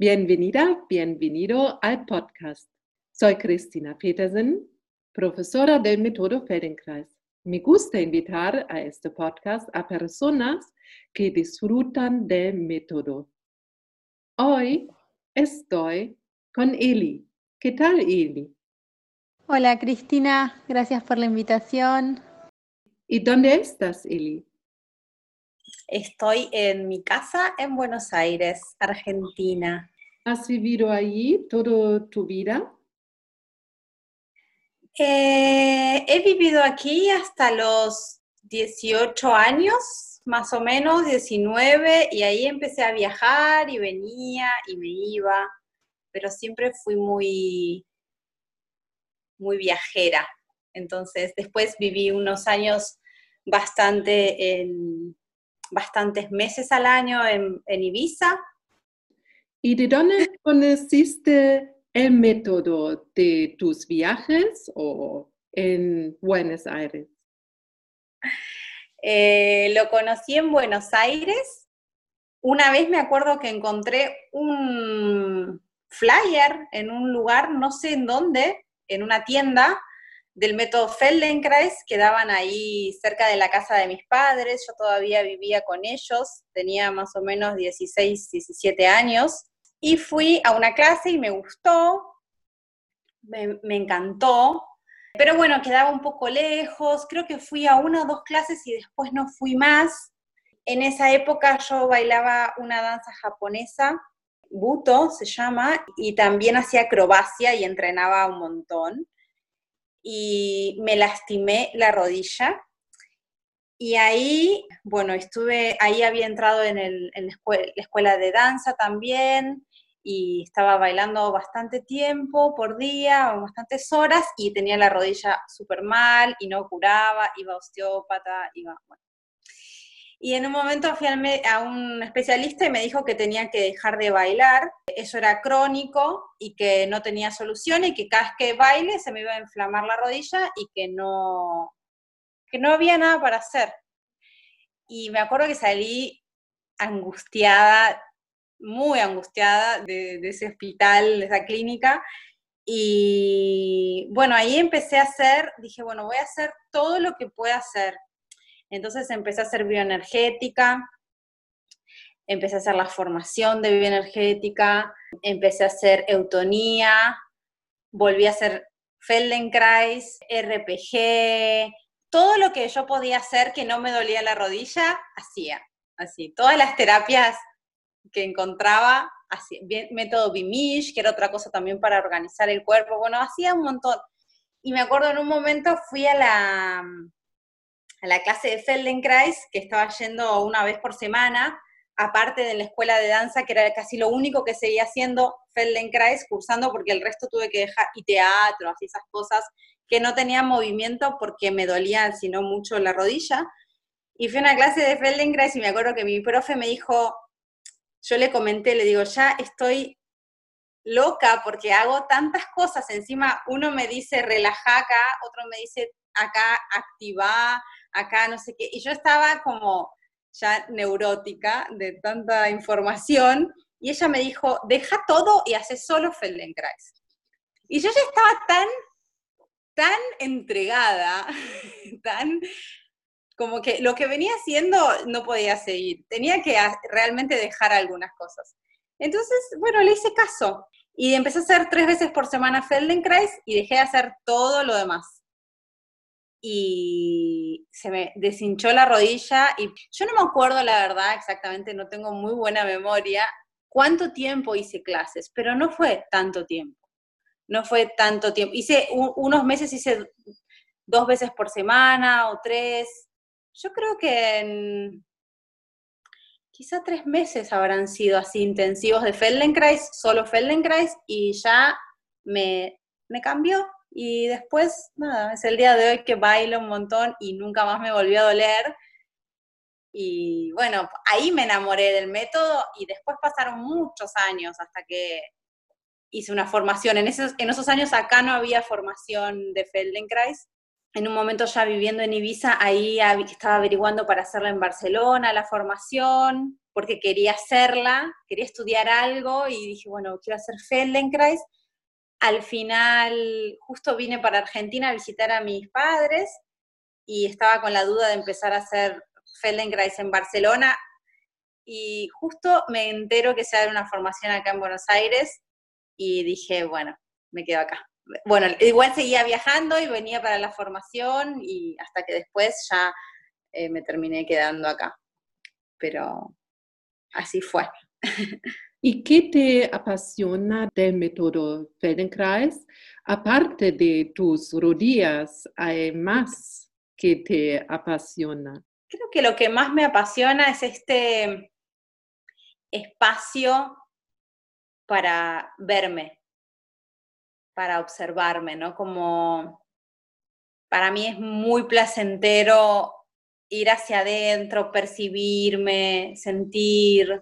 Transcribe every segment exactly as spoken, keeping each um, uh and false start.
Bienvenida, bienvenido al podcast. Soy Cristina Petersen, profesora del método Feldenkrais. Me gusta invitar a este podcast a personas que disfrutan del método. Hoy estoy con Eli. ¿Qué tal, Eli? Hola Cristina, gracias por la invitación. ¿Y dónde estás, Eli? Estoy en mi casa en Buenos Aires, Argentina. ¿Has vivido allí toda tu vida? Eh, he vivido aquí hasta los dieciocho años, más o menos, diecinueve, y ahí empecé a viajar y venía y me iba, pero siempre fui muy, muy viajera. Entonces, después viví unos años bastante en, bastantes meses al año en, en Ibiza. ¿Y de dónde conociste el método de tus viajes o en Buenos Aires? Eh, lo conocí en Buenos Aires. Una vez me acuerdo que encontré un flyer en un lugar, no sé en dónde, en una tienda del método Feldenkrais, que daban ahí cerca de la casa de mis padres. Yo todavía vivía con ellos, tenía más o menos dieciséis, diecisiete años, y fui a una clase y me gustó, me, me encantó, pero bueno, quedaba un poco lejos. Creo que fui a una o dos clases y después no fui más. En esa época yo bailaba una danza japonesa, Buto se llama, y también hacía acrobacia y entrenaba un montón. Y me lastimé la rodilla. Y ahí, bueno, estuve, ahí había entrado en, el, en la, escuela, la escuela de danza también, y estaba bailando bastante tiempo por día, bastantes horas, y tenía la rodilla súper mal, y no curaba, iba a osteópata, iba, bueno. Y en un momento fui a un especialista y me dijo que tenía que dejar de bailar, eso era crónico y que no tenía solución, y que cada vez que baile se me iba a inflamar la rodilla y que no, que no había nada para hacer. Y me acuerdo que salí angustiada, muy angustiada de, de ese hospital, de esa clínica. Y bueno, ahí empecé a hacer, dije, bueno, voy a hacer todo lo que pueda hacer. Entonces empecé a hacer bioenergética, empecé a hacer la formación de bioenergética, empecé a hacer eutonía, volví a hacer Feldenkrais, R P G, todo lo que yo podía hacer que no me dolía la rodilla, hacía, así, todas las terapias que encontraba, así, método Bimish, que era otra cosa también para organizar el cuerpo, bueno, hacía un montón. Y me acuerdo en un momento fui a la, a la clase de Feldenkrais, que estaba yendo una vez por semana, aparte de la escuela de danza, que era casi lo único que seguía haciendo Feldenkrais, cursando, porque el resto tuve que dejar, y teatro, así esas cosas, que no tenía movimiento porque me dolía, sino mucho la rodilla. Y fui a una clase de Feldenkrais y me acuerdo que mi profe me dijo, yo le comenté, le digo, ya estoy loca porque hago tantas cosas, encima uno me dice relajá acá, otro me dice acá activá, acá no sé qué, y yo estaba como ya neurótica de tanta información, y ella me dijo, deja todo y hace solo Feldenkrais. Y yo ya estaba tan, tan entregada, tan como que lo que venía haciendo no podía seguir, tenía que realmente dejar algunas cosas. Entonces, bueno, le hice caso, y empecé a hacer tres veces por semana Feldenkrais, y dejé de hacer todo lo demás. Y se me deshinchó la rodilla, y yo no me acuerdo la verdad exactamente, no tengo muy buena memoria, cuánto tiempo hice clases, pero no fue tanto tiempo, no fue tanto tiempo. Hice un, unos meses, hice dos veces por semana o tres, yo creo que en quizá tres meses habrán sido así intensivos de Feldenkrais, solo Feldenkrais, y ya me, me cambió. Y después, nada, es el día de hoy que bailo un montón y nunca más me volvió a doler. Y bueno, ahí me enamoré del método, y después pasaron muchos años hasta que hice una formación. En esos, en esos años acá no había formación de Feldenkrais, en un momento ya viviendo en Ibiza, ahí estaba averiguando para hacerla en Barcelona, la formación, porque quería hacerla, quería estudiar algo, y dije, bueno, quiero hacer Feldenkrais. Al final, justo vine para Argentina a visitar a mis padres, y estaba con la duda de empezar a hacer Feldenkrais en Barcelona, y justo me entero que se da una formación acá en Buenos Aires, y dije, bueno, me quedo acá. Bueno, igual seguía viajando y venía para la formación, y hasta que después ya eh, me terminé quedando acá. Pero así fue. ¿Y qué te apasiona del método Feldenkrais? Aparte de tus rodillas, ¿hay más que te apasiona? Creo que lo que más me apasiona es este espacio para verme, para observarme, ¿no? Como para mí es muy placentero ir hacia adentro, percibirme, sentir,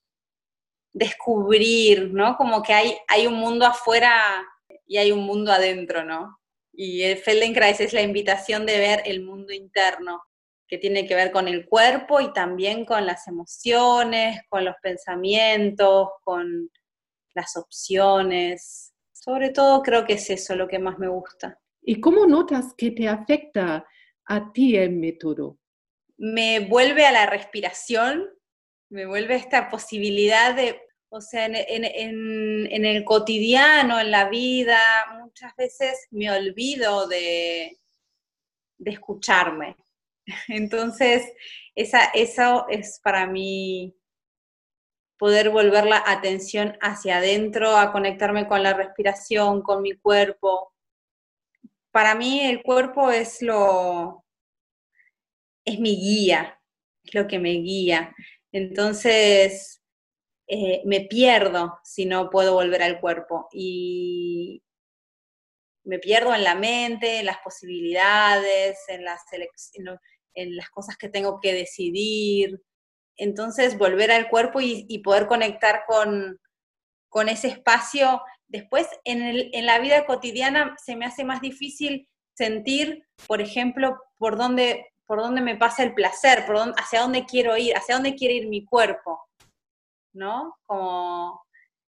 descubrir, ¿no? Como que hay, hay un mundo afuera y hay un mundo adentro, ¿no? Y el Feldenkrais es la invitación de ver el mundo interno, que tiene que ver con el cuerpo y también con las emociones, con los pensamientos, con las opciones. Sobre todo creo que es eso lo que más me gusta. ¿Y cómo notas que te afecta a ti el método? Me vuelve a la respiración, me vuelve esta posibilidad de, o sea, en, en, en, en el cotidiano, en la vida, muchas veces me olvido de, de escucharme. Entonces, esa, eso es para mí poder volver la atención hacia adentro, a conectarme con la respiración, con mi cuerpo. Para mí el cuerpo es lo, es mi guía, es lo que me guía. Entonces, eh, me pierdo si no puedo volver al cuerpo. Y me pierdo en la mente, en las posibilidades, en las, en, lo, en las cosas que tengo que decidir. Entonces, volver al cuerpo y, y poder conectar con, con ese espacio. Después, en, el, en la vida cotidiana se me hace más difícil sentir, por ejemplo, por dónde, por dónde me pasa el placer, por dónde, hacia dónde quiero ir, hacia dónde quiere ir mi cuerpo, ¿no? Como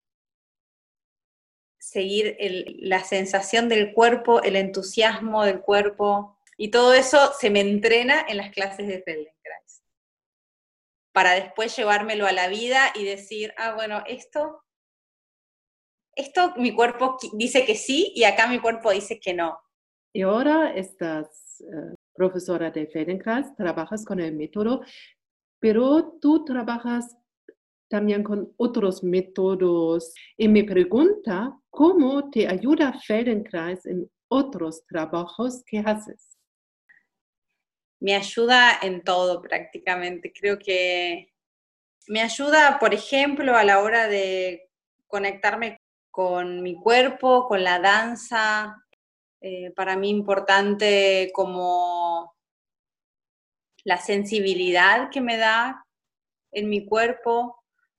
seguir el, la sensación del cuerpo, el entusiasmo del cuerpo, y todo eso se me entrena en las clases de Feldenkrais, para después llevármelo a la vida y decir, ah, bueno, esto, esto mi cuerpo dice que sí, y acá mi cuerpo dice que no. Y ahora estás uh, profesora de Feldenkrais, trabajas con el método, pero tú trabajas también con otros métodos. Y me pregunta, ¿cómo te ayuda Feldenkrais en otros trabajos que haces? Me ayuda en todo prácticamente. Creo que me ayuda, por ejemplo, a la hora de conectarme con mi cuerpo, con la danza. Eh, para mí importante como la sensibilidad que me da en mi cuerpo.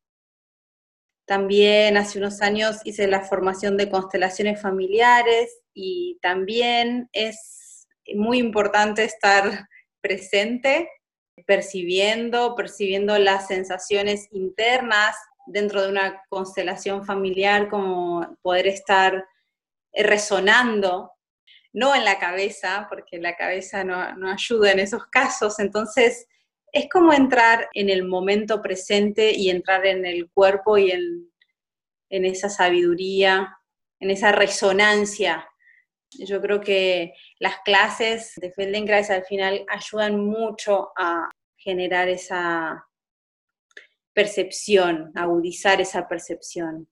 También hace unos años hice la formación de constelaciones familiares, y también es muy importante estar presente, percibiendo, percibiendo las sensaciones internas dentro de una constelación familiar, como poder estar resonando, no en la cabeza, porque la cabeza no, no ayuda en esos casos. Entonces, es como entrar en el momento presente y entrar en el cuerpo y en, en esa sabiduría, en esa resonancia. Yo creo que las clases de Feldenkrais al final ayudan mucho a generar esa percepción, agudizar esa percepción.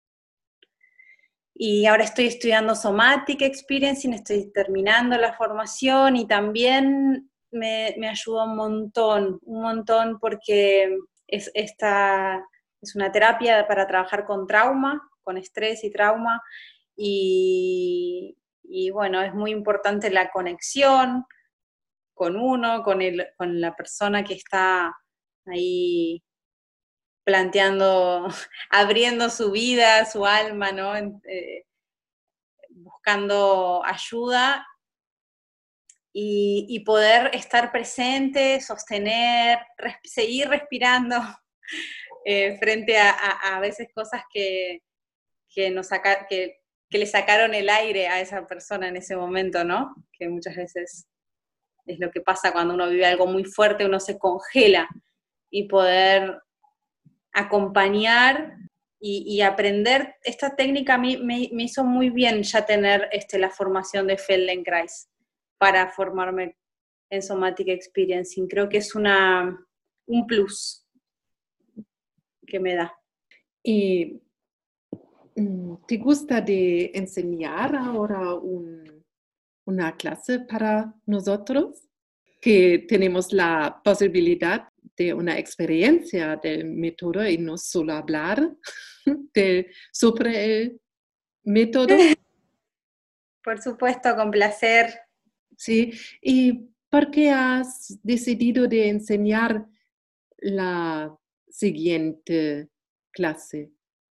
Y ahora estoy estudiando Somatic Experiencing, estoy terminando la formación, y también me, me ayuda un montón, un montón, porque es, esta, es una terapia para trabajar con trauma, con estrés y trauma, y, y bueno, es muy importante la conexión con uno, con, el, con la persona que está ahí planteando, abriendo su vida, su alma, ¿no? Eh, buscando ayuda, y, y poder estar presente, sostener, res, seguir respirando eh, frente a, a, a veces cosas que, que, nos saca, que, que le sacaron el aire a esa persona en ese momento, ¿no? Que muchas veces es lo que pasa cuando uno vive algo muy fuerte, uno se congela, y poder acompañar y, y aprender. Esta técnica a mí me, me hizo muy bien ya tener este, la formación de Feldenkrais para formarme en Somatic Experiencing. Creo que es una, un plus que me da. ¿Y te gusta de enseñar ahora un, una clase para nosotros? Que tenemos la posibilidad de una experiencia del método y no solo hablar de, sobre el método. Por supuesto, con placer. Sí, ¿y por qué has decidido de enseñar la siguiente clase?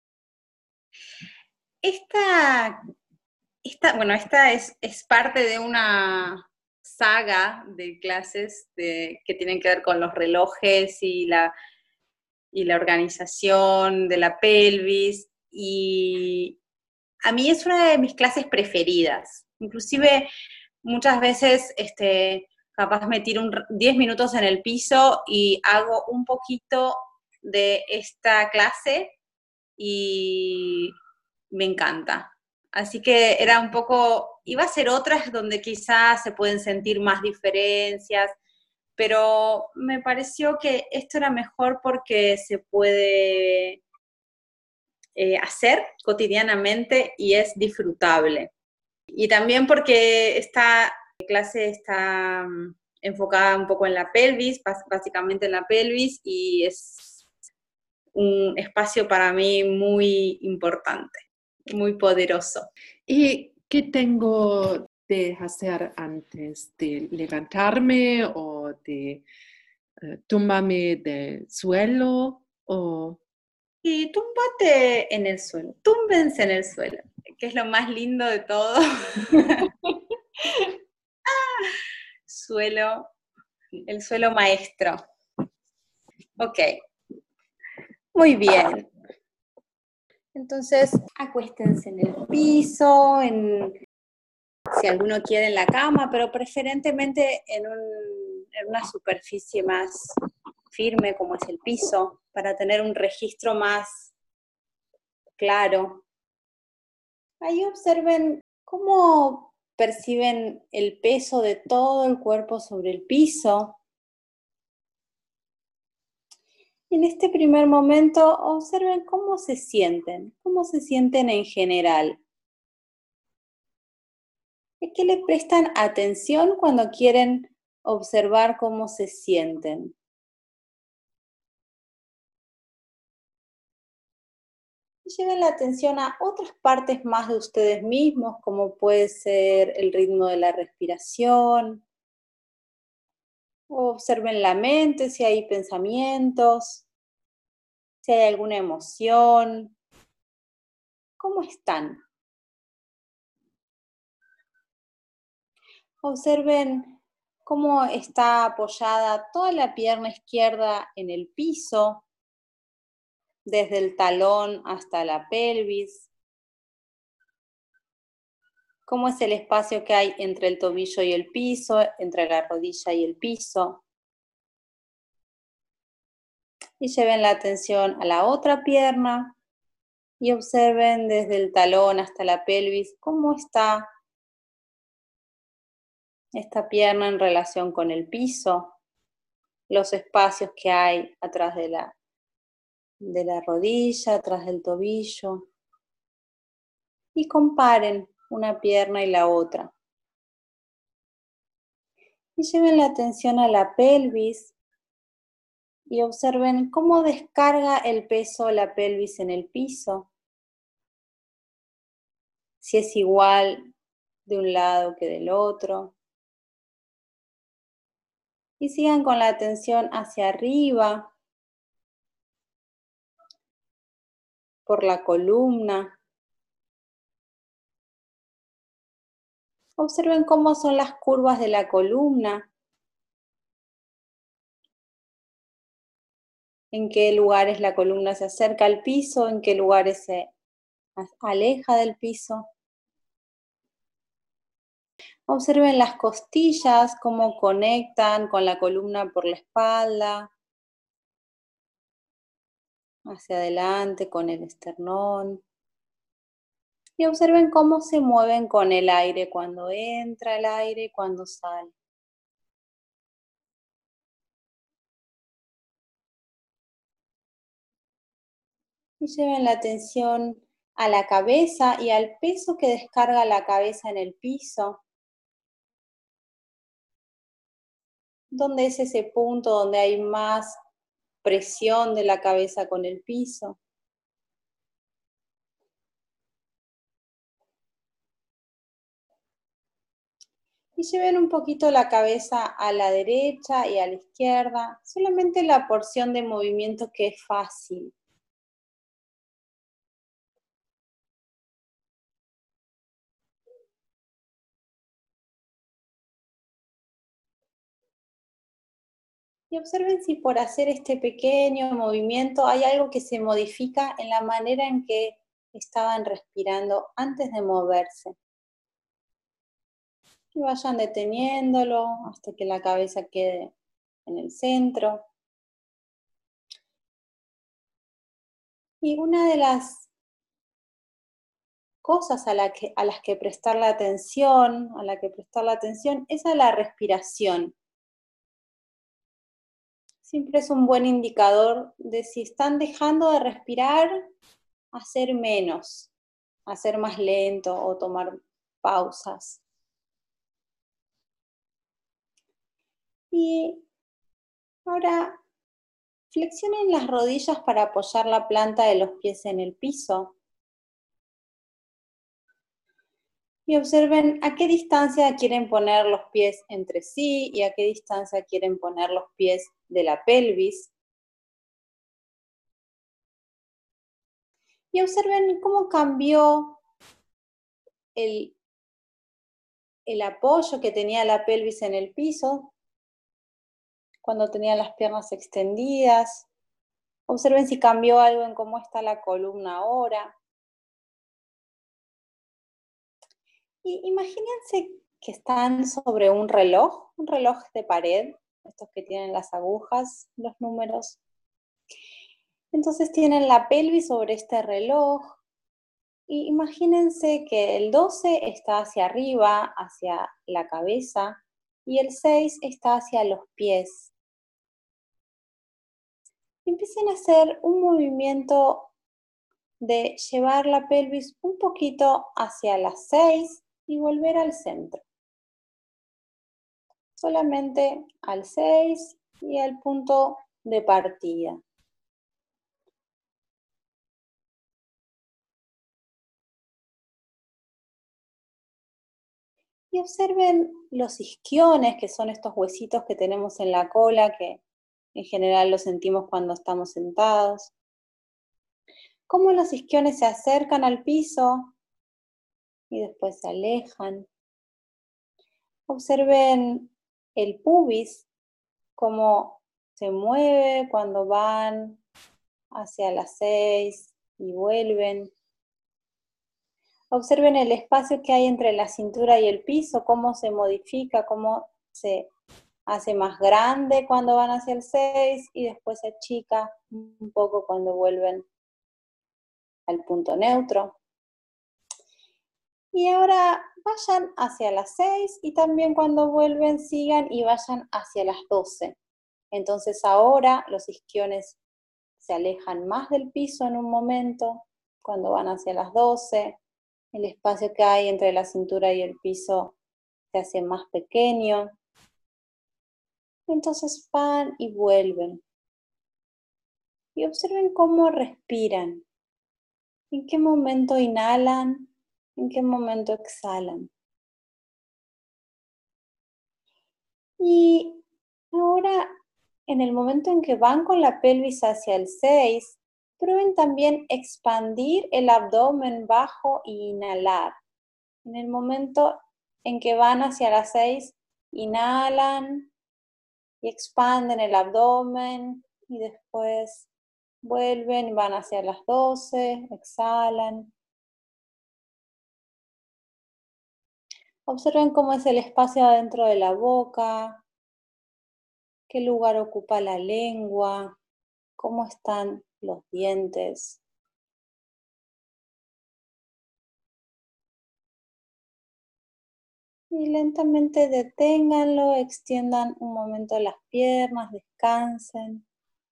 Esta, esta bueno, esta es, es parte de una saga de clases de, que tienen que ver con los relojes y la, y la organización de la pelvis, y a mí es una de mis clases preferidas. Inclusive muchas veces este, capaz me tiro diez minutos en el piso y hago un poquito de esta clase y me encanta. Así que era un poco, iba a ser otras donde quizás se pueden sentir más diferencias, pero me pareció que esto era mejor porque se puede eh, hacer cotidianamente y es disfrutable. Y también porque esta clase está um, enfocada un poco en la pelvis, básicamente en la pelvis, y es un espacio para mí muy importante, muy poderoso. ¿Y qué tengo de hacer antes de levantarme o de uh, tumbarme del suelo? O... Y túmbate en el suelo, túmbense en el suelo, que es lo más lindo de todo. Suelo, el suelo maestro. Ok, muy bien. Entonces, acuéstense en el piso, en, si alguno quiere en la cama, pero preferentemente en, un, en una superficie más firme como es el piso, para tener un registro más claro. Ahí observen cómo perciben el peso de todo el cuerpo sobre el piso. En este primer momento, observen cómo se sienten, cómo se sienten en general. ¿A qué le prestan atención cuando quieren observar cómo se sienten? Y lleven la atención a otras partes más de ustedes mismos, como puede ser el ritmo de la respiración. Observen la mente, si hay pensamientos, si hay alguna emoción. ¿Cómo están? Observen cómo está apoyada toda la pierna izquierda en el piso, desde el talón hasta la pelvis. Cómo es el espacio que hay entre el tobillo y el piso, entre la rodilla y el piso. Y lleven la atención a la otra pierna y observen desde el talón hasta la pelvis cómo está esta pierna en relación con el piso, los espacios que hay atrás de la, de la rodilla, atrás del tobillo. Y comparen una pierna y la otra. Y lleven la atención a la pelvis y observen cómo descarga el peso la pelvis en el piso. Si es igual de un lado que del otro. Y sigan con la atención hacia arriba, por la columna. Observen cómo son las curvas de la columna. En qué lugares la columna se acerca al piso, en qué lugares se aleja del piso. Observen las costillas, cómo conectan con la columna por la espalda, hacia adelante con el esternón. Y observen cómo se mueven con el aire, cuando entra el aire y cuando sale. Y lleven la atención a la cabeza y al peso que descarga la cabeza en el piso. ¿Dónde es ese punto donde hay más presión de la cabeza con el piso? Y lleven un poquito la cabeza a la derecha y a la izquierda, solamente la porción de movimiento que es fácil. Y observen si por hacer este pequeño movimiento hay algo que se modifica en la manera en que estaban respirando antes de moverse. Y vayan deteniéndolo hasta que la cabeza quede en el centro. Y una de las cosas a, la que, a las que prestar la atención, a la que prestar la atención es a la respiración. Siempre es un buen indicador de si están dejando de respirar, hacer menos, hacer más lento o tomar pausas. Y ahora flexionen las rodillas para apoyar la planta de los pies en el piso. Y observen a qué distancia quieren poner los pies entre sí y a qué distancia quieren poner los pies de la pelvis. Y observen cómo cambió el, el apoyo que tenía la pelvis en el piso cuando tenía las piernas extendidas. Observen si cambió algo en cómo está la columna ahora. Y imagínense que están sobre un reloj, un reloj de pared, estos que tienen las agujas, los números. Entonces tienen la pelvis sobre este reloj. Y imagínense que el doce está hacia arriba, hacia la cabeza, y el seis está hacia los pies. Empiecen a hacer un movimiento de llevar la pelvis un poquito hacia las seis y volver al centro. Solamente al seis y al punto de partida. Y observen los isquiones, que son estos huesitos que tenemos en la cola, que en general los sentimos cuando estamos sentados. Cómo los isquiones se acercan al piso y después se alejan. Observen el pubis, cómo se mueve cuando van hacia las seis y vuelven. Observen el espacio que hay entre la cintura y el piso, cómo se modifica, cómo se hace más grande cuando van hacia el seis y después se achica un poco cuando vuelven al punto neutro. Y ahora vayan hacia las seis y también cuando vuelven sigan y vayan hacia las doce. Entonces ahora los isquiones se alejan más del piso en un momento, cuando van hacia las doce. El espacio que hay entre la cintura y el piso se hace más pequeño. Entonces van y vuelven. Y observen cómo respiran. ¿En qué momento inhalan? ¿En qué momento exhalan? Y ahora, en el momento en que van con la pelvis hacia el seis, prueben también expandir el abdomen bajo e inhalar. En el momento en que van hacia las seis, inhalan y expanden el abdomen y después vuelven y van hacia las doce, exhalan. Observen cómo es el espacio adentro de la boca, qué lugar ocupa la lengua, cómo están los dientes. Y lentamente deténganlo, extiendan un momento las piernas, descansen.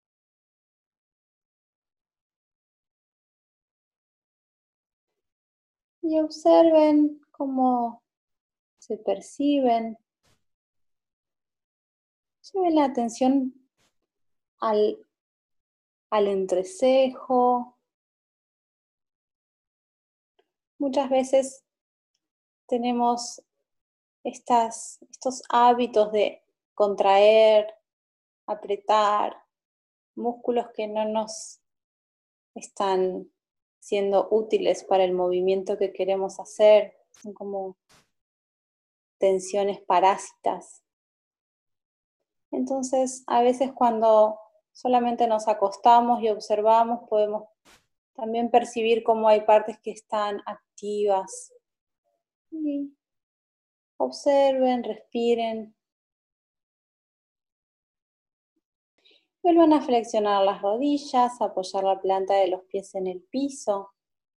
Y observen cómo se perciben. Lleven la atención al, al entrecejo. Muchas veces tenemos estas, estos hábitos de contraer, apretar, músculos que no nos están siendo útiles para el movimiento que queremos hacer. Son como tensiones parásitas. Entonces, a veces cuando solamente nos acostamos y observamos, podemos también percibir cómo hay partes que están activas. Y observen, respiren. Vuelvan a flexionar las rodillas, apoyar la planta de los pies en el piso.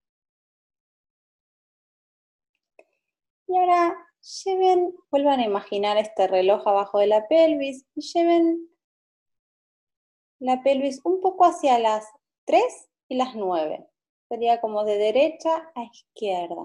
Y ahora lleven, vuelvan a imaginar este reloj abajo de la pelvis y lleven la pelvis un poco hacia las tres y las nueve. Sería como de derecha a izquierda.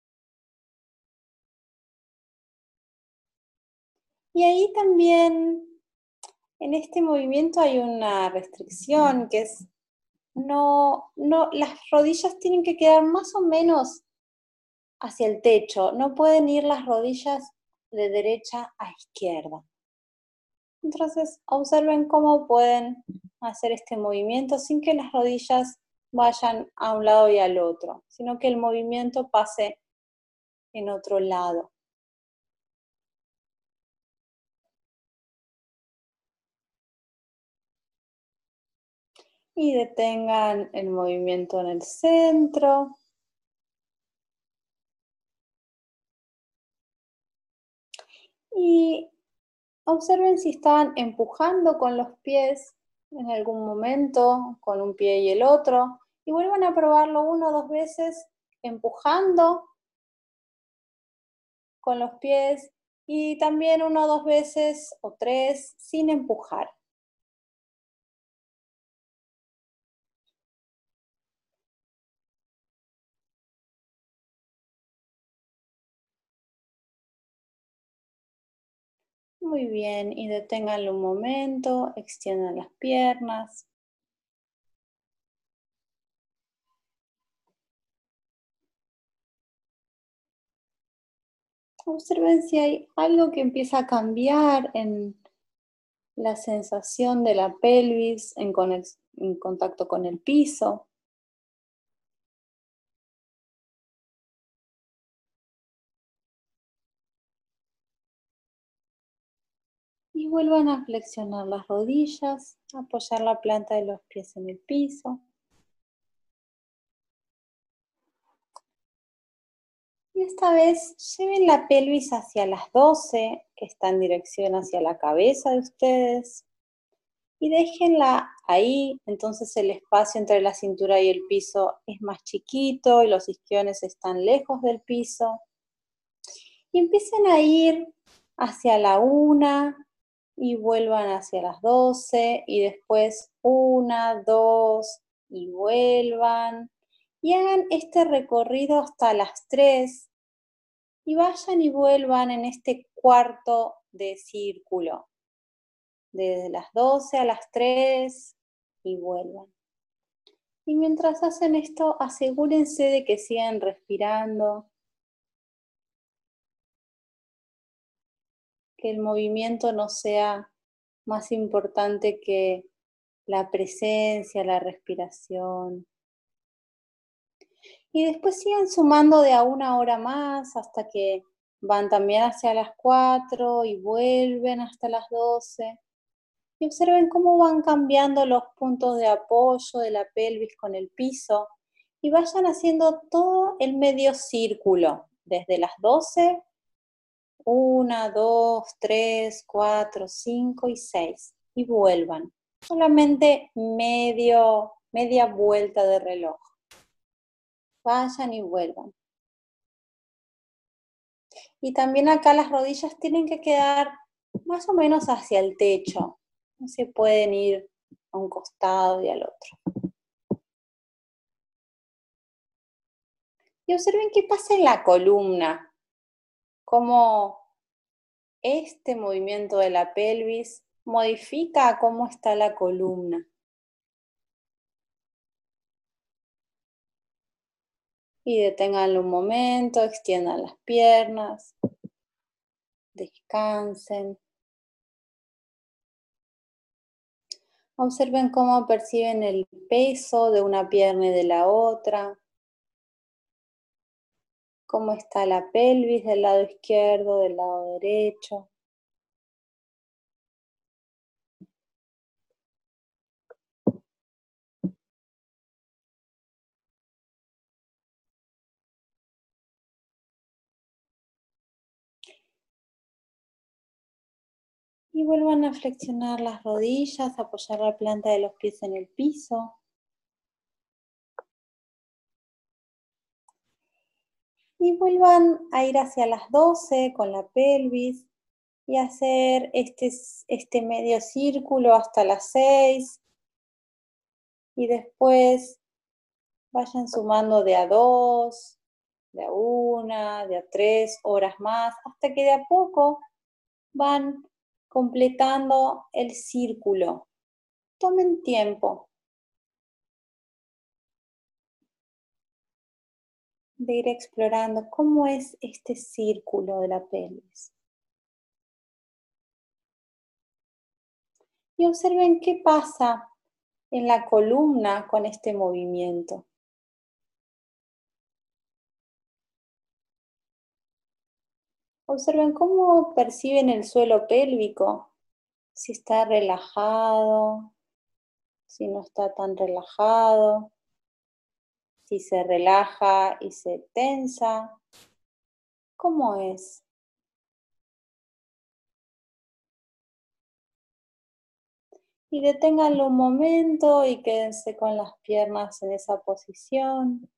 Y ahí también, en este movimiento hay una restricción que es, no, no, las rodillas tienen que quedar más o menos hacia el techo, no pueden ir las rodillas de derecha a izquierda. Entonces, observen cómo pueden hacer este movimiento sin que las rodillas vayan a un lado y al otro, sino que el movimiento pase en otro lado. Y detengan el movimiento en el centro. Y observen si están empujando con los pies en algún momento, con un pie y el otro. Y vuelvan a probarlo una o dos veces, empujando con los pies. Y también una o dos veces, o tres, sin empujar. Muy bien, y deténganlo un momento, extiendan las piernas. Observen si hay algo que empieza a cambiar en la sensación de la pelvis en, en contacto con el piso. Y vuelvan a flexionar las rodillas, apoyar la planta de los pies en el piso. Y esta vez lleven la pelvis hacia las doce, que está en dirección hacia la cabeza de ustedes. Y déjenla ahí, entonces el espacio entre la cintura y el piso es más chiquito y los isquiones están lejos del piso. Y empiecen a ir hacia la una y vuelvan hacia las doce y después una, dos y vuelvan. Y hagan este recorrido hasta las tres y vayan y vuelvan en este cuarto de círculo. Desde las doce a las tres y vuelvan. Y mientras hacen esto, asegúrense de que sigan respirando, que el movimiento no sea más importante que la presencia, la respiración. Y después sigan sumando de a una hora más hasta que Van también hacia las cuatro y vuelven hasta las doce. Y observen cómo van cambiando los puntos de apoyo de la pelvis con el piso. Y vayan haciendo todo el medio círculo, desde las doce, uno, dos, tres, cuatro, cinco y seis. Y vuelvan. Solamente medio, media vuelta de reloj. Vayan y vuelvan. Y también acá las rodillas tienen que quedar más o menos hacia el techo. No se pueden ir a un costado y al otro. Y observen qué pasa en la columna. Cómo este movimiento de la pelvis modifica cómo está la columna. Y deténganlo un momento, extiendan las piernas, descansen. Observen cómo perciben el peso de una pierna y de la otra. Cómo está la pelvis del lado izquierdo, del lado derecho. Y vuelvan a flexionar las rodillas, apoyar la planta de los pies en el piso. Y vuelvan a ir hacia las doce con la pelvis y hacer este, este medio círculo hasta las seis. Y después vayan sumando de a dos, de a una, de a tres horas más, hasta que de a poco van completando el círculo. Tomen tiempo de ir explorando cómo es este círculo de la pelvis. Y observen qué pasa en la columna con este movimiento. Observen cómo perciben el suelo pélvico, si está relajado, si no está tan relajado, si se relaja y se tensa. ¿Cómo es? Y deténganlo un momento y quédense con las piernas en esa posición.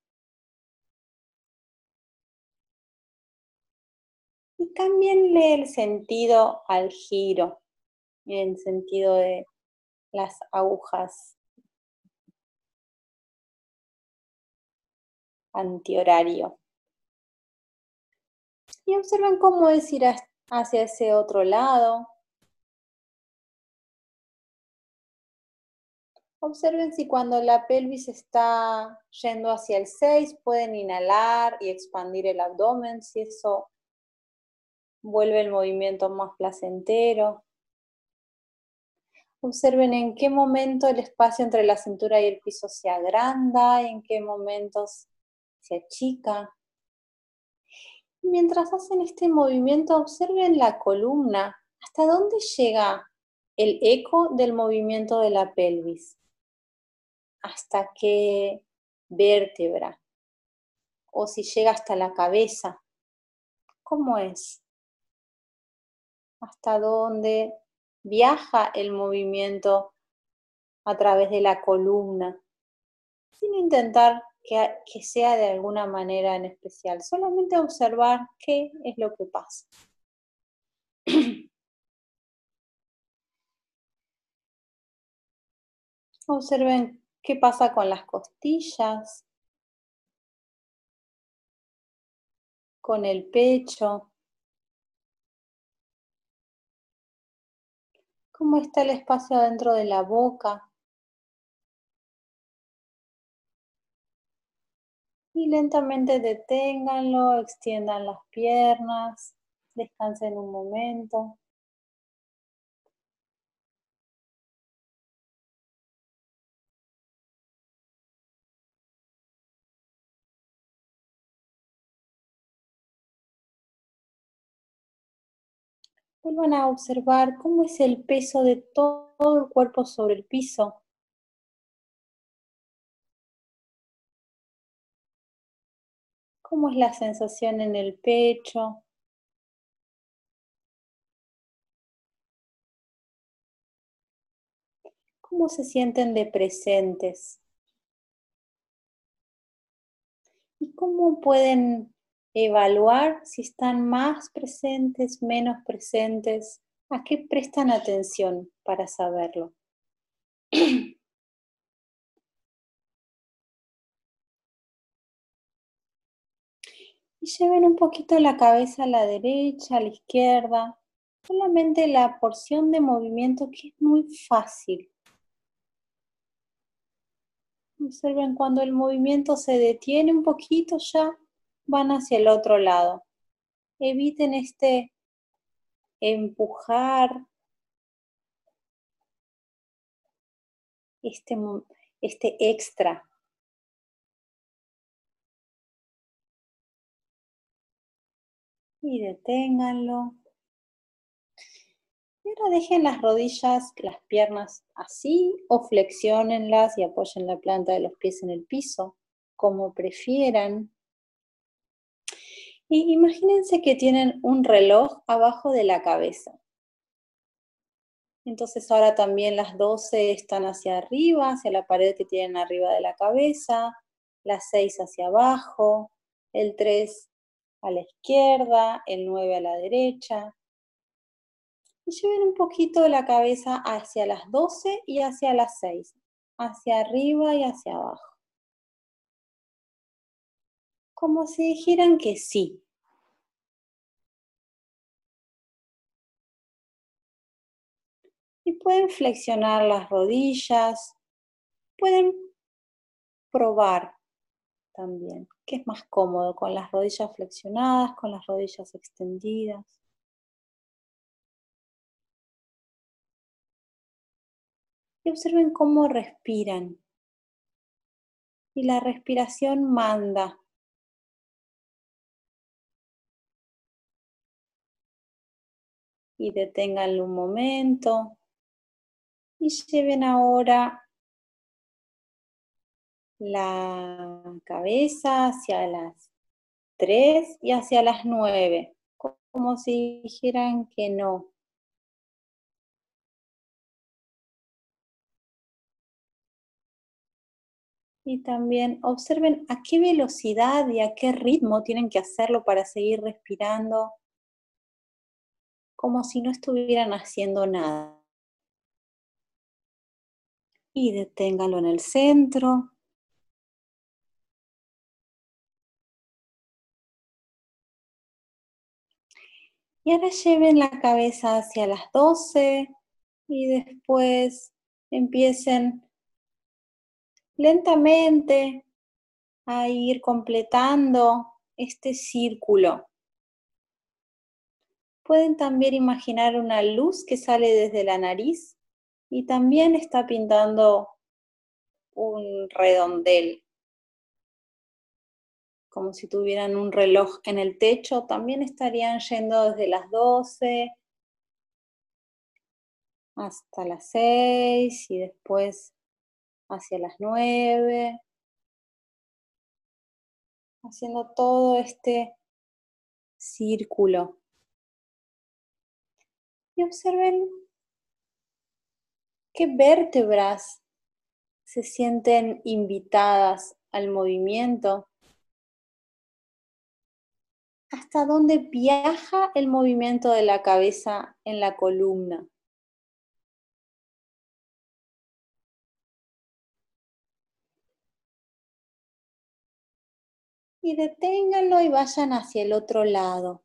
Y cámbienle el sentido al giro, en el sentido de las agujas antihorario. Y observen cómo es ir hacia ese otro lado. Observen si cuando la pelvis está yendo hacia el seis pueden inhalar y expandir el abdomen, si eso vuelve el movimiento más placentero. Observen en qué momento el espacio entre la cintura y el piso se agranda, en qué momentos se achica. Mientras hacen este movimiento, observen la columna, hasta dónde llega el eco del movimiento de la pelvis, hasta qué vértebra, o si llega hasta la cabeza. ¿Cómo es? ¿Hasta dónde viaja el movimiento a través de la columna? Sin intentar que, que sea de alguna manera en especial, solamente observar qué es lo que pasa. Observen qué pasa con las costillas, con el pecho, cómo está el espacio dentro de la boca. Y lentamente deténganlo, extiendan las piernas, descansen un momento. Vuelvan a observar cómo es el peso de todo el cuerpo sobre el piso. ¿Cómo es la sensación en el pecho? ¿Cómo se sienten de presentes? ¿Y cómo pueden evaluar si están más presentes, menos presentes? ¿A qué prestan atención para saberlo? Y lleven un poquito la cabeza a la derecha, a la izquierda, solamente la porción de movimiento que es muy fácil. Observen cuando el movimiento se detiene un poquito, ya van hacia el otro lado. Eviten este empujar, este, este extra. Y deténganlo. Y ahora dejen las rodillas, las piernas así, o flexiónenlas y apoyen la planta de los pies en el piso, como prefieran. Y imagínense que tienen un reloj abajo de la cabeza. Entonces ahora también las doce están hacia arriba, hacia la pared que tienen arriba de la cabeza, las seis hacia abajo, el tres a la izquierda, el nueve a la derecha. Y lleven un poquito la cabeza hacia las doce y hacia las seis, hacia arriba y hacia abajo. Como si dijeran que sí. Y pueden flexionar las rodillas, pueden probar también qué es más cómodo, con las rodillas flexionadas, con las rodillas extendidas. Y observen cómo respiran. Y la respiración manda. Y deténganlo un momento. Y lleven ahora la cabeza hacia las tres y hacia las nueve, como si dijeran que no. Y también observen a qué velocidad y a qué ritmo tienen que hacerlo para seguir respirando, como si no estuvieran haciendo nada. Y deténganlo en el centro. Y ahora lleven la cabeza hacia las doce y después empiecen lentamente a ir completando este círculo. Pueden también imaginar una luz que sale desde la nariz y también está pintando un redondel. Como si tuvieran un reloj en el techo, también estarían yendo desde las doce hasta las seis y después hacia las nueve, haciendo todo este círculo. Y observen qué vértebras se sienten invitadas al movimiento. ¿Hasta dónde viaja el movimiento de la cabeza en la columna? Y deténganlo y vayan hacia el otro lado.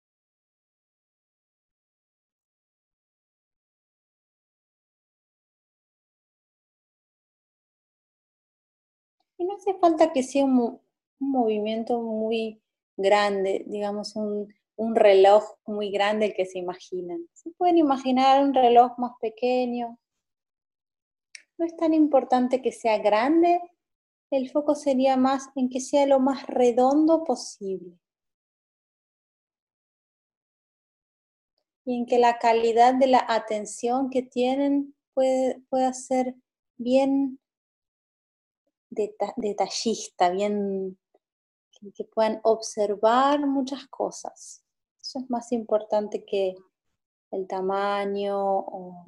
Y no hace falta que sea un, un movimiento muy grande, digamos un, un reloj muy grande el que se imaginan. Se pueden imaginar un reloj más pequeño. No es tan importante que sea grande, el foco sería más en que sea lo más redondo posible. y en que la calidad de la atención que tienen puede, pueda ser bien deta- detallista, bien que, que puedan observar muchas cosas. Eso es más importante que el tamaño o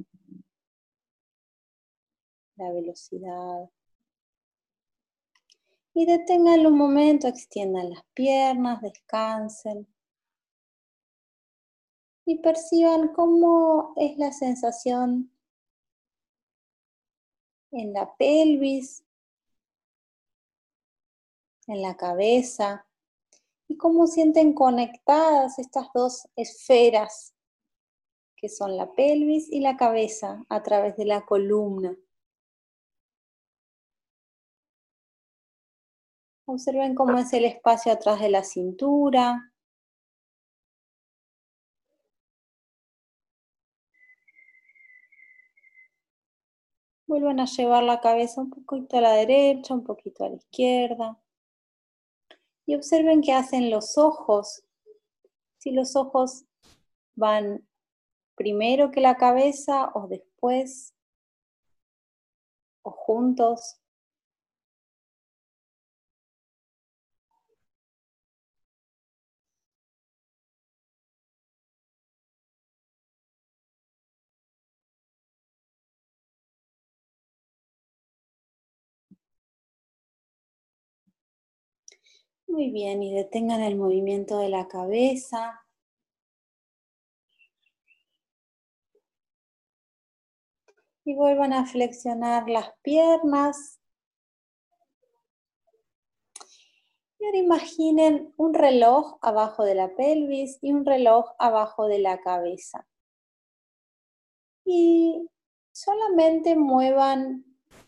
la velocidad. Y deténganlo un momento, extiendan las piernas, descansen. Y perciban cómo es la sensación en la pelvis, en la cabeza, y cómo sienten conectadas estas dos esferas que son la pelvis y la cabeza a través de la columna. Observen cómo es el espacio atrás de la cintura. Vuelvan a llevar la cabeza un poquito a la derecha, un poquito a la izquierda. Y observen qué hacen los ojos. Si los ojos van primero que la cabeza o después o juntos. Muy bien, y detengan el movimiento de la cabeza. Y vuelvan a flexionar las piernas. Y ahora imaginen un reloj abajo de la pelvis y un reloj abajo de la cabeza. Y solamente muevan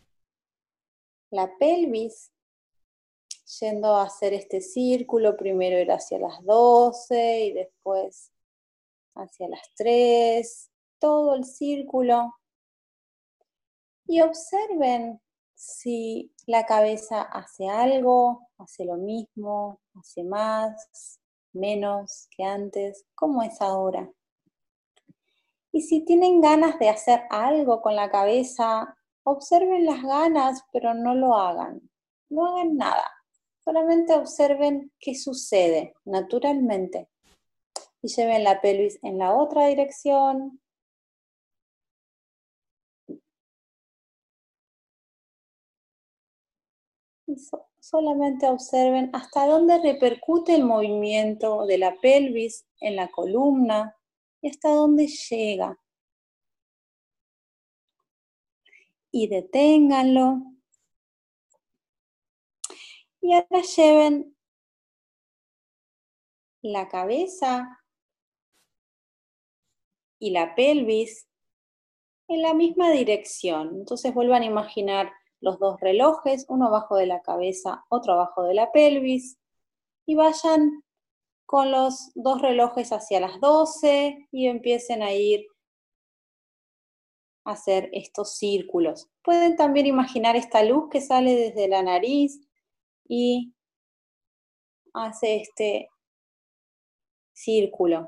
la pelvis, yendo a hacer este círculo. Primero ir hacia las doce y después hacia las tres. Todo el círculo. Y observen si la cabeza hace algo, hace lo mismo, hace más, menos que antes, ¿cómo es ahora? Y si tienen ganas de hacer algo con la cabeza, observen las ganas, pero no lo hagan. No hagan nada. Solamente observen qué sucede naturalmente. Y lleven la pelvis en la otra dirección. Y so- solamente observen hasta dónde repercute el movimiento de la pelvis en la columna y hasta dónde llega. Y deténganlo. Y ahora lleven la cabeza y la pelvis en la misma dirección. Entonces vuelvan a imaginar los dos relojes, uno abajo de la cabeza, otro abajo de la pelvis, y vayan con los dos relojes hacia las doce y empiecen a ir a hacer estos círculos. Pueden también imaginar esta luz que sale desde la nariz y hace este círculo.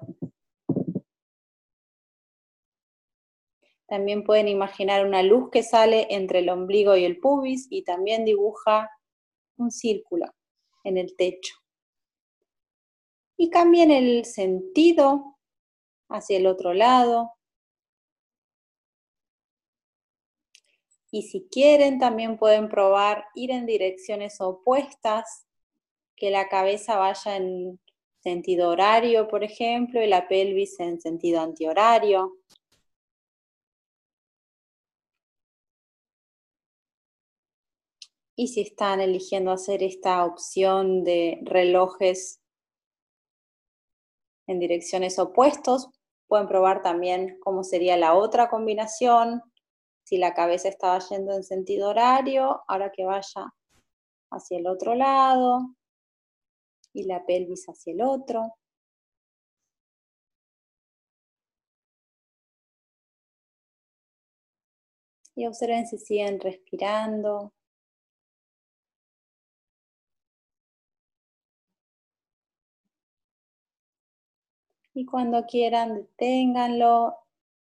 También pueden imaginar una luz que sale entre el ombligo y el pubis y también dibuja un círculo en el techo. Y cambien el sentido hacia el otro lado. Y si quieren, también pueden probar ir en direcciones opuestas, que la cabeza vaya en sentido horario, por ejemplo, y la pelvis en sentido antihorario. Y si están eligiendo hacer esta opción de relojes en direcciones opuestas, pueden probar también cómo sería la otra combinación. Si la cabeza estaba yendo en sentido horario, ahora que vaya hacia el otro lado y la pelvis hacia el otro. Y observen si siguen respirando. Y cuando quieran, deténganlo.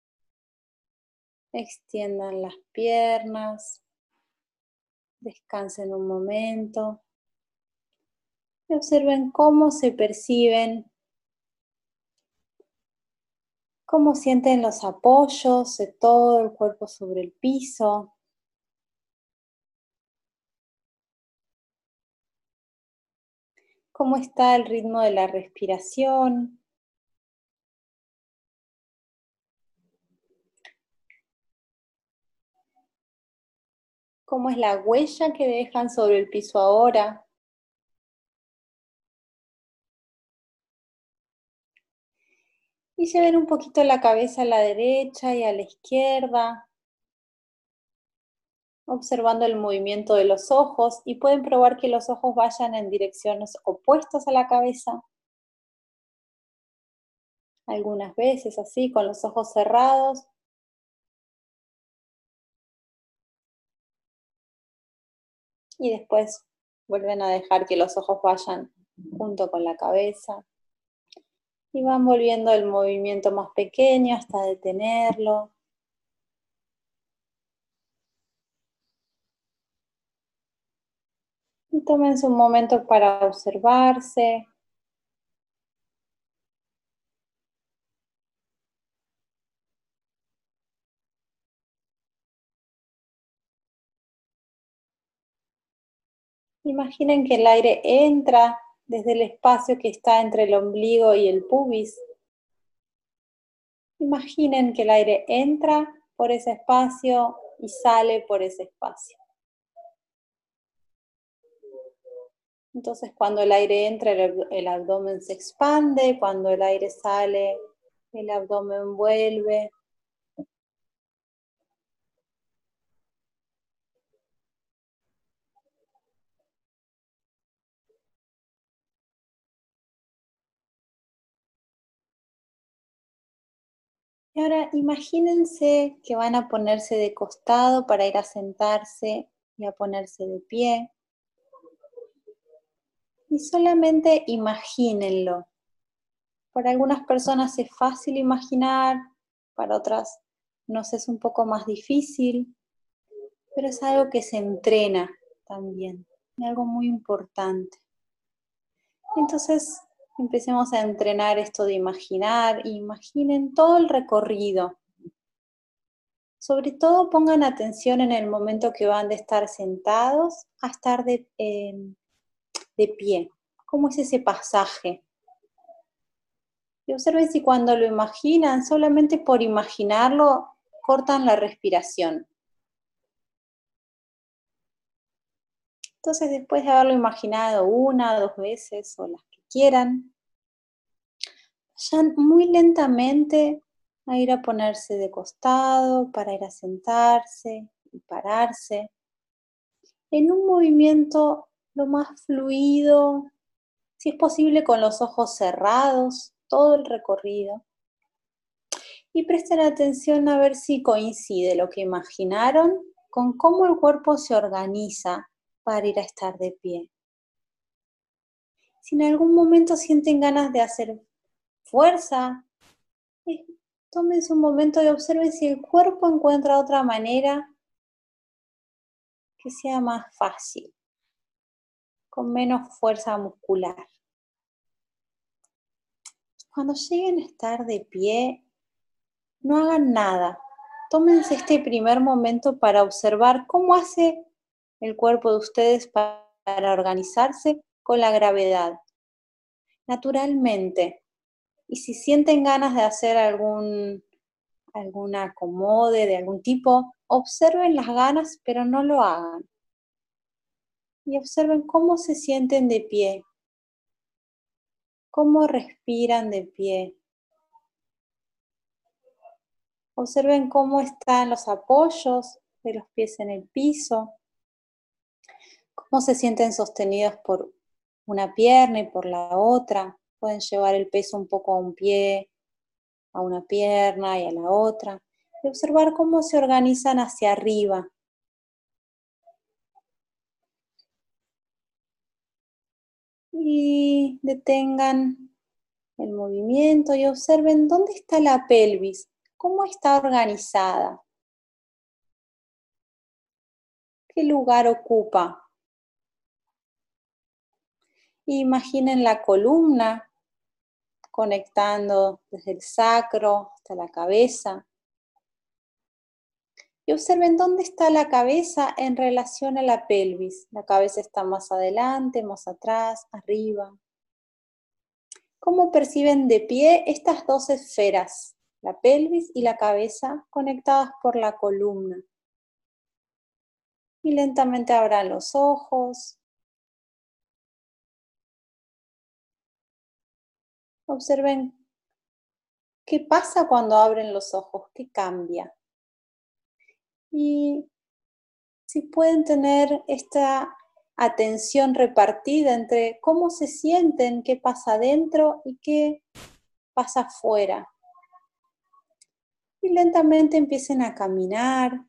Extiendan las piernas. Descansen un momento. Y observen cómo se perciben. Cómo sienten los apoyos de todo el cuerpo sobre el piso. Cómo está el ritmo de la respiración. Cómo es la huella que dejan sobre el piso ahora. Y lleven un poquito la cabeza a la derecha y a la izquierda, observando el movimiento de los ojos, y pueden probar que los ojos vayan en direcciones opuestas a la cabeza. Algunas veces así, con los ojos cerrados. Y después vuelven a dejar que los ojos vayan junto con la cabeza. Y van volviendo el movimiento más pequeño hasta detenerlo. Y tómense un momento para observarse. Imaginen que el aire entra desde el espacio que está entre el ombligo y el pubis. Imaginen que el aire entra por ese espacio y sale por ese espacio. Entonces, cuando el aire entra, el, el abdomen se expande. Cuando el aire sale, el abdomen vuelve. Y ahora imagínense que van a ponerse de costado para ir a sentarse y a ponerse de pie. Y solamente imagínenlo. Para algunas personas es fácil imaginar, para otras nos es un poco más difícil, pero es algo que se entrena también, es algo muy importante. Entonces empecemos a entrenar esto de imaginar, imaginen todo el recorrido. Sobre todo pongan atención en el momento que van de estar sentados a estar de, eh, de pie. ¿Cómo es ese pasaje? Y observen si cuando lo imaginan, solamente por imaginarlo, cortan la respiración. Entonces, después de haberlo imaginado una, dos veces o las que quieran, vayan muy lentamente a ir a ponerse de costado, para ir a sentarse y pararse, en un movimiento lo más fluido, si es posible con los ojos cerrados, todo el recorrido. Y presten atención a ver si coincide lo que imaginaron con cómo el cuerpo se organiza para ir a estar de pie. Si en algún momento sienten ganas de hacer fuerza, eh, tómense un momento y observen si el cuerpo encuentra otra manera que sea más fácil, con menos fuerza muscular. Cuando lleguen a estar de pie, no hagan nada. Tómense este primer momento para observar cómo hace el cuerpo de ustedes para organizarse con la gravedad, naturalmente. Y si sienten ganas de hacer algún, algún acomode de algún tipo, observen las ganas, pero no lo hagan. Y observen cómo se sienten de pie, cómo respiran de pie. Observen cómo están los apoyos de los pies en el piso, cómo se sienten sostenidos por una pierna y por la otra. Pueden llevar el peso un poco a un pie, a una pierna y a la otra. Y observar cómo se organizan hacia arriba. Y detengan el movimiento y observen dónde está la pelvis, cómo está organizada, qué lugar ocupa. Imaginen la columna conectando desde el sacro hasta la cabeza. Y observen dónde está la cabeza en relación a la pelvis. La cabeza está más adelante, más atrás, arriba. ¿Cómo perciben de pie estas dos esferas, la pelvis y la cabeza, conectadas por la columna? Y lentamente abran los ojos. Observen qué pasa cuando abren los ojos, qué cambia. Y si pueden tener esta atención repartida entre cómo se sienten, qué pasa adentro y qué pasa afuera. Y lentamente empiecen a caminar.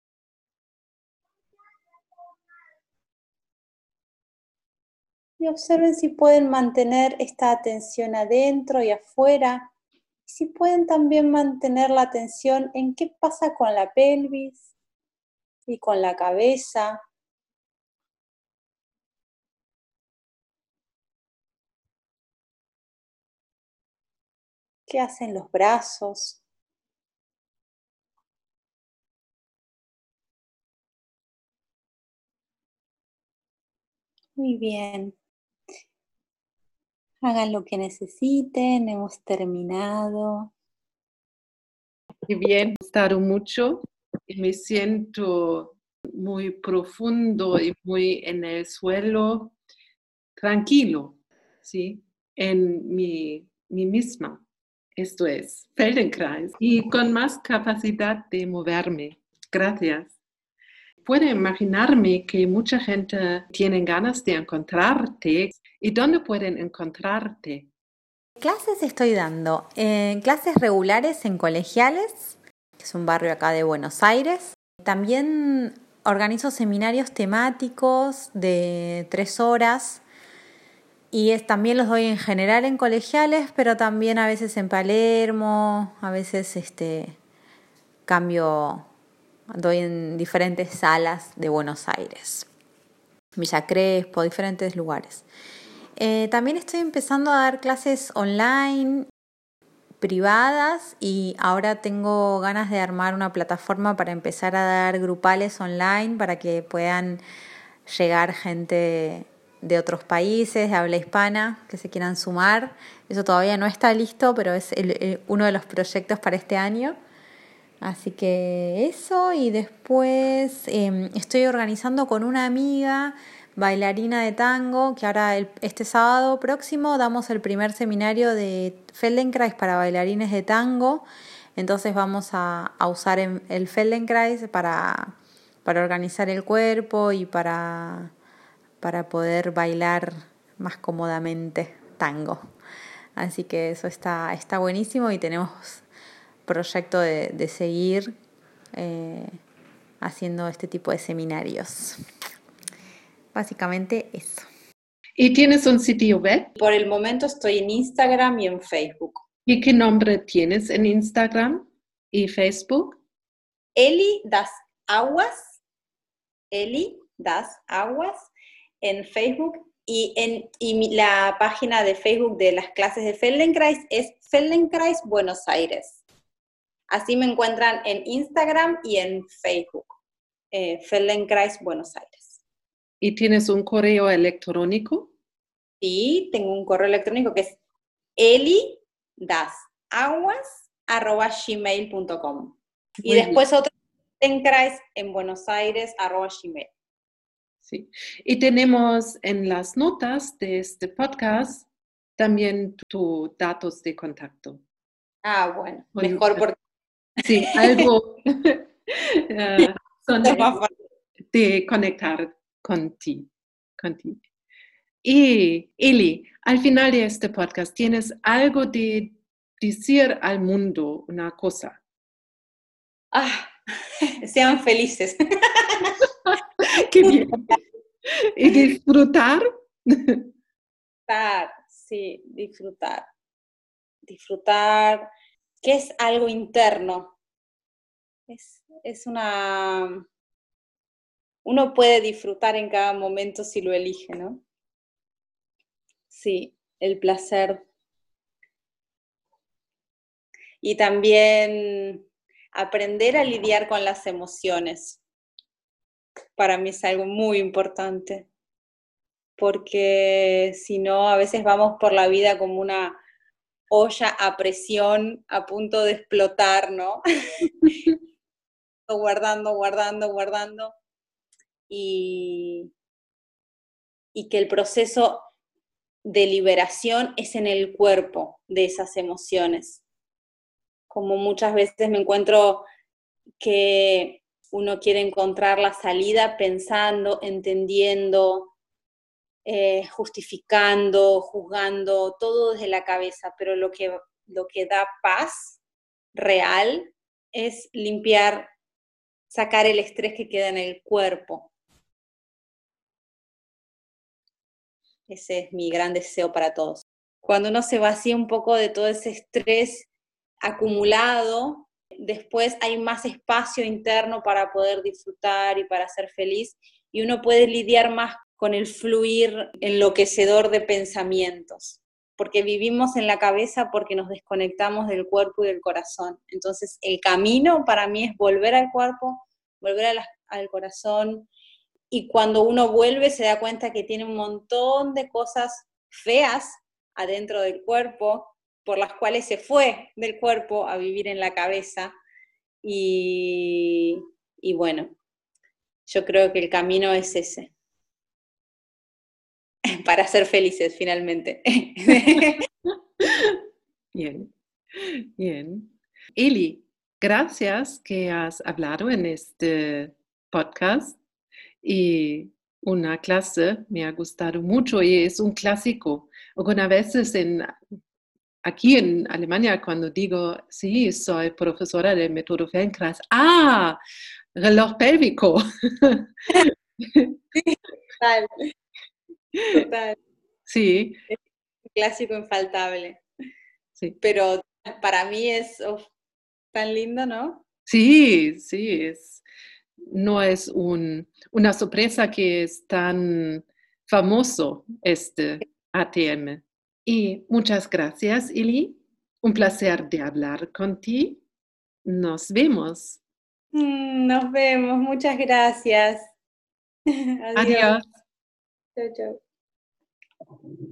Y observen si pueden mantener esta atención adentro y afuera. Y si pueden también mantener la atención en qué pasa con la pelvis y con la cabeza. ¿Qué hacen los brazos? Muy bien. Hagan lo que necesiten, hemos terminado. Muy bien, me ha gustado mucho y me siento muy profundo y muy en el suelo, tranquilo, ¿sí? En mi, mi misma. Esto es Feldenkrais y con más capacidad de moverme. Gracias. Puedo imaginarme que mucha gente tiene ganas de encontrarte. ¿Y dónde pueden encontrarte? Clases estoy dando, eh, clases regulares en Colegiales, que es un barrio acá de Buenos Aires. También organizo seminarios temáticos de tres horas y es, también los doy en general en Colegiales, pero también a veces en Palermo, a veces este, cambio, doy en diferentes salas de Buenos Aires, Villa Crespo, diferentes lugares. Eh, también estoy empezando a dar clases online, privadas, y ahora tengo ganas de armar una plataforma para empezar a dar grupales online para que puedan llegar gente de otros países, de habla hispana, que se quieran sumar. Eso todavía no está listo, pero es el, el, uno de los proyectos para este año. Así que eso, y después eh, estoy organizando con una amiga bailarina de tango, que ahora el, este sábado próximo damos el primer seminario de Feldenkrais para bailarines de tango. Entonces vamos a, a usar el Feldenkrais para, para organizar el cuerpo y para, para poder bailar más cómodamente tango. Así que eso está, está buenísimo y tenemos proyecto de, de seguir eh, haciendo este tipo de seminarios. Básicamente eso. ¿Y tienes un sitio web? Por el momento estoy en Instagram y en Facebook. ¿Y qué nombre tienes en Instagram y Facebook? Eli das Aguas. Eli das Aguas en Facebook. Y, en, y mi, la página de Facebook de las clases de Feldenkrais es Feldenkrais Buenos Aires. Así me encuentran en Instagram y en Facebook. Eh, Feldenkrais Buenos Aires. ¿Y tienes un correo electrónico? Sí, tengo un correo electrónico que es eli das aguas arroba gmail punto com. Y después bien. Otro, Feldenkrais en Buenos Aires arroba gmail. Sí. Y tenemos en las notas de este podcast también tus datos de contacto. Ah, bueno, mejor porque... Sí, algo uh, son de conectar con ti, con ti. Y Eli, al final de este podcast, ¿tienes algo de decir al mundo, una cosa? Ah, sean felices. Qué bien. Y disfrutar. Disfrutar, sí, disfrutar. disfrutar, que es algo interno. Es, es una... Uno puede disfrutar en cada momento si lo elige, ¿no? Sí, el placer. Y también aprender a lidiar con las emociones. Para mí es algo muy importante. Porque si no, a veces vamos por la vida como una olla a presión a punto de explotar, ¿no? guardando, guardando, guardando. Y, y que el proceso de liberación es en el cuerpo de esas emociones. Como muchas veces me encuentro que uno quiere encontrar la salida pensando, entendiendo, eh, justificando, juzgando, todo desde la cabeza, pero lo que, lo que da paz real es limpiar, sacar el estrés que queda en el cuerpo. Ese es mi gran deseo para todos. Cuando uno se vacía un poco de todo ese estrés acumulado, después hay más espacio interno para poder disfrutar y para ser feliz, y uno puede lidiar más con el fluir enloquecedor de pensamientos, porque vivimos en la cabeza porque nos desconectamos del cuerpo y del corazón. Entonces el camino para mí es volver al cuerpo, volver a la, al corazón, y cuando uno vuelve se da cuenta que tiene un montón de cosas feas adentro del cuerpo, por las cuales se fue del cuerpo a vivir en la cabeza. Y, y bueno, yo creo que el camino es ese, para ser felices finalmente. Bien, bien. Eli, gracias que has hablado en este podcast y una clase me ha gustado mucho y es un clásico. Algunas veces en, aquí en Alemania cuando digo, sí, soy profesora del método Feldenkrais, ¡ah! Reloj pélvico. Sí, total, total. Sí. Es un clásico infaltable. Sí. Pero para mí es oh, tan lindo, ¿no? Sí, sí, es, no es un, una sorpresa que es tan famoso este A T M. Y muchas gracias, Eli. Un placer de hablar contigo. Nos vemos. Nos vemos, muchas gracias. Adiós. Adiós. Chau, chau.